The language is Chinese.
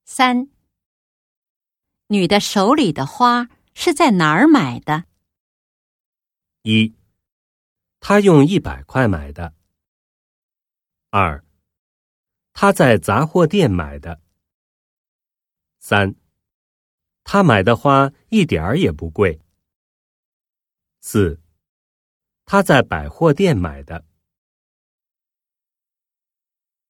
3. 女的手里的花是在哪儿买的 ？1. 她用100块买的。2. 她在杂货店买的。3. 她买的花一点儿也不贵。4. 她在百货店买的。